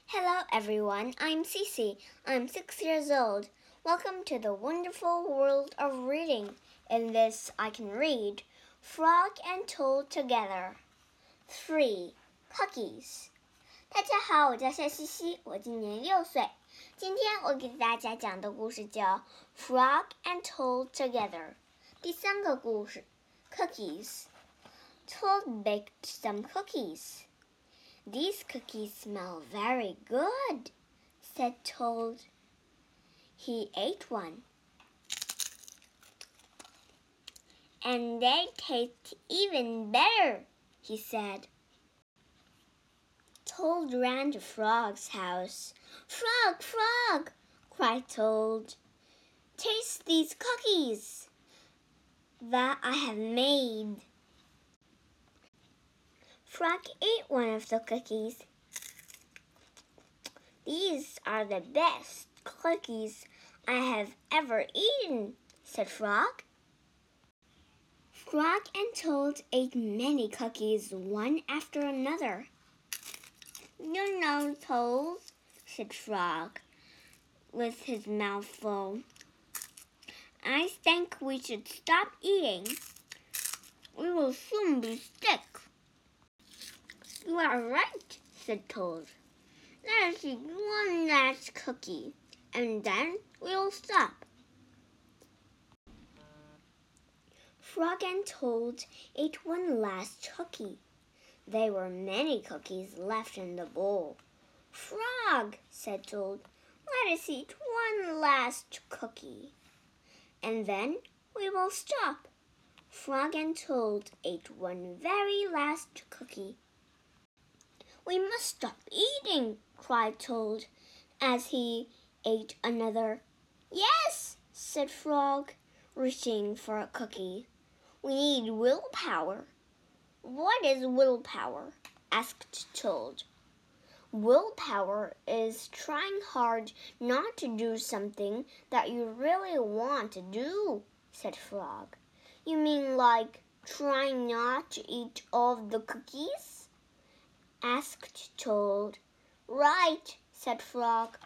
Hello everyone, I'm Cece. I'm 6 years old. Welcome to the wonderful world of reading. In this I can read Frog and Toad Together. 3. Cookies. 大家好，我叫夏西西，我今年6岁。今天我给大家讲的故事叫 Frog and Toad Together。第3个故事 Cookies. Toad baked some cookies.These cookies smell very good, said Toad. He ate one. And they taste even better, he said. Toad ran to Frog's house. Frog, Frog, cried Toad. Taste these cookies that I have made.Frog ate one of the cookies. These are the best cookies I have ever eaten, said Frog. Frog and Toad ate many cookies, one after another. You know, Toad, said Frog, with his mouth full. I think we should stop eating. We will soon be sick.You are right, said Toad. Let us eat one last cookie, and then we'll stop. Frog and Toad ate one last cookie. There were many cookies left in the bowl. Frog, said Toad, let us eat one last cookie, and then we will stop. Frog and Toad ate one very last cookie.We must stop eating, cried Toad, as he ate another. Yes, said Frog, reaching for a cookie. We need willpower. What is willpower? Asked Toad. Willpower is trying hard not to do something that you really want to do, said Frog. You mean like trying not to eat all of the cookies?asked Toad. Right, said Frog.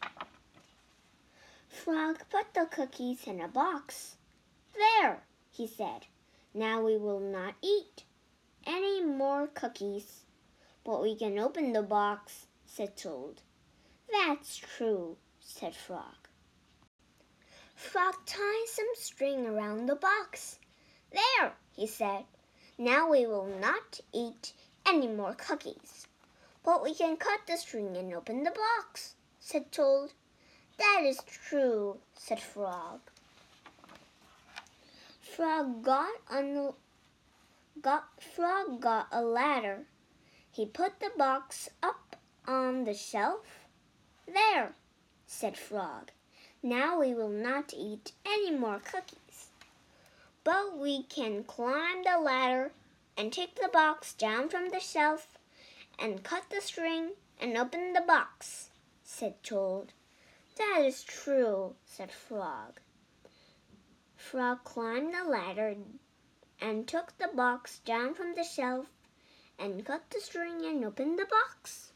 Frog put the cookies in a box. There, he said. Now we will not eat any more cookies. But we can open the box, said Toad. That's true, said Frog. Frog tied some string around the box. There, he said. Now we will not eat any more cookies. But we can cut the string and open the box, said Toad. That is true, said Frog. Frog got a ladder. He put the box up on the shelf. There, said Frog. Now we will not eat any more cookies. But we can climb the ladder.And take the box down from the shelf and cut the string and open the box, said Toad. That is true, said Frog. Frog climbed the ladder and took the box down from the shelf and cut the string and opened the box.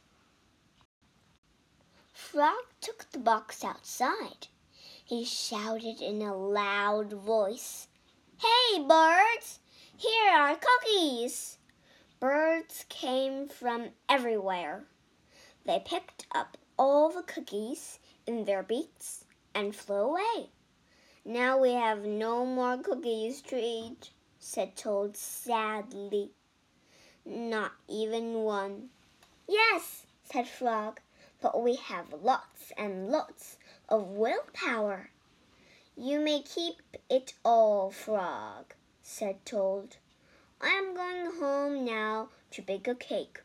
Frog took the box outside. He shouted in a loud voice, Hey, birds!Here are cookies! Birds came from everywhere. They picked up all the cookies in their beaks and flew away. Now we have no more cookies to eat, said Toad sadly. Not even one. Yes, said Frog, but we have lots and lots of willpower. You may keep it all, Frog, said Toad. I am going home now to bake a cake.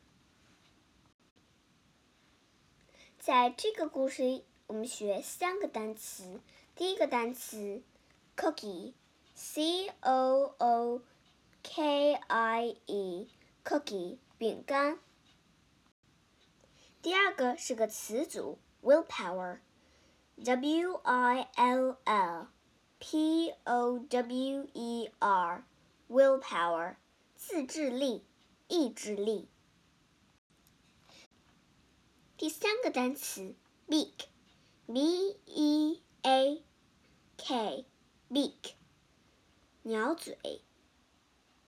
在这个故事里，我们学3个单词。第一个单词 cookie, C-O-O-K-I-E, cookie, 饼干。第二个是个词组 willpower, W-I-L-L.P-O-W-E-R, willpower, 自制力、意志力。 第3个单词 beak，B-E-A-K，beak，鸟嘴。